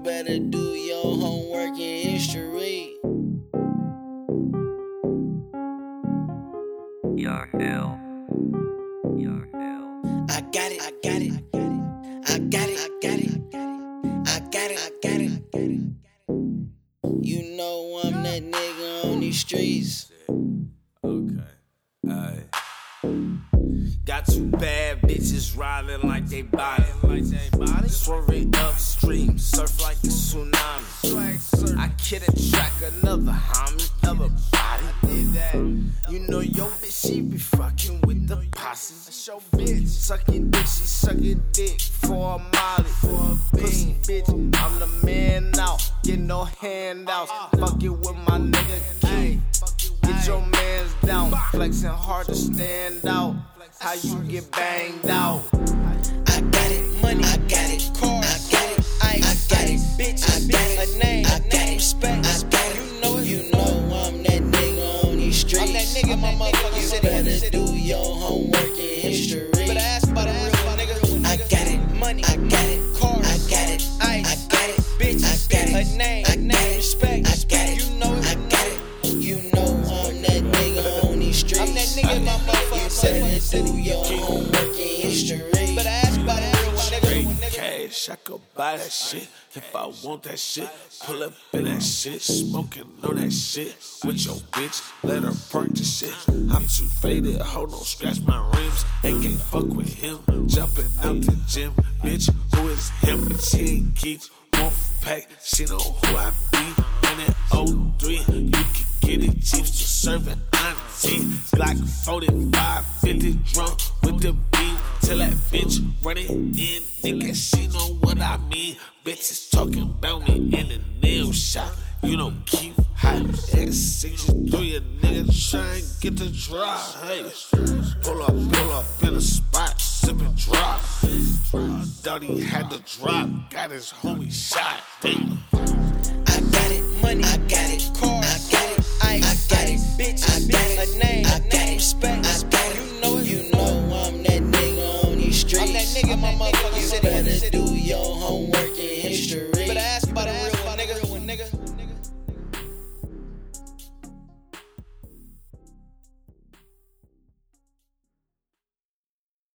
better do your homework in history. Your hell. Your hell. I got it, I got it, I got it, I got it, I got it, I got it. You know I'm that nigga on these streets. Okay, aight. Got two bad bitches riding like they body. Swerving upstream, surf like a tsunami. I couldn't track another homie, other body. You know your bitch, she be fucking with the posse. Show bitch, sucking dick, she sucking dick for a molly. Pussy bitch, I'm the man out, get no handouts. Fucking with my nigga King. Get your mans down, flexing hard to stand out. How you get banged out? I got it, money, I got it, cars, I got it, ice, I got it, bitch, I got it, a name, I got it, respect, I got it, you know I'm that nigga on these streets. I'm that nigga in my motherfucking city. Better do your homework in history. Better ask about a real nigga. I got it, money, I got it, cars, I got it, ice, I got it, bitch, I got it, a name, I got it, respect, I got it, you know I got it, you know I'm that nigga on these streets. I'm that nigga in my motherfucking city. Do your homework in history. Better ask about a real nigga. Cash, I could buy that shit if I want that shit. Pull up in that shit, smoking on that shit with your bitch. Let her park the shit. I'm too faded, hold on, scratch my rims. They can't fuck with him. Jumping out the gym, bitch. Who is him? She ain't geeks, won't pack. She know who I be. And at 03, you can get it cheap to serve it. Glock 45, 50 drunk with the beat. Tell that bitch run it in, nigga, she know what I mean. Bitches talking about me in the nail shop. You don't keep hot. X63, a nigga try and get the drop. Hey, pull up in a spot, sipping drop. Thought he had the drop, got his homie shot. Damn. I got it, money, I got it, cars, I got it, ice, I got it, bitch, I got it, a name, I got it, respect, I got it, you know I'm that nigga on these streets. I'm that nigga in my motherfucking city. Better do your homework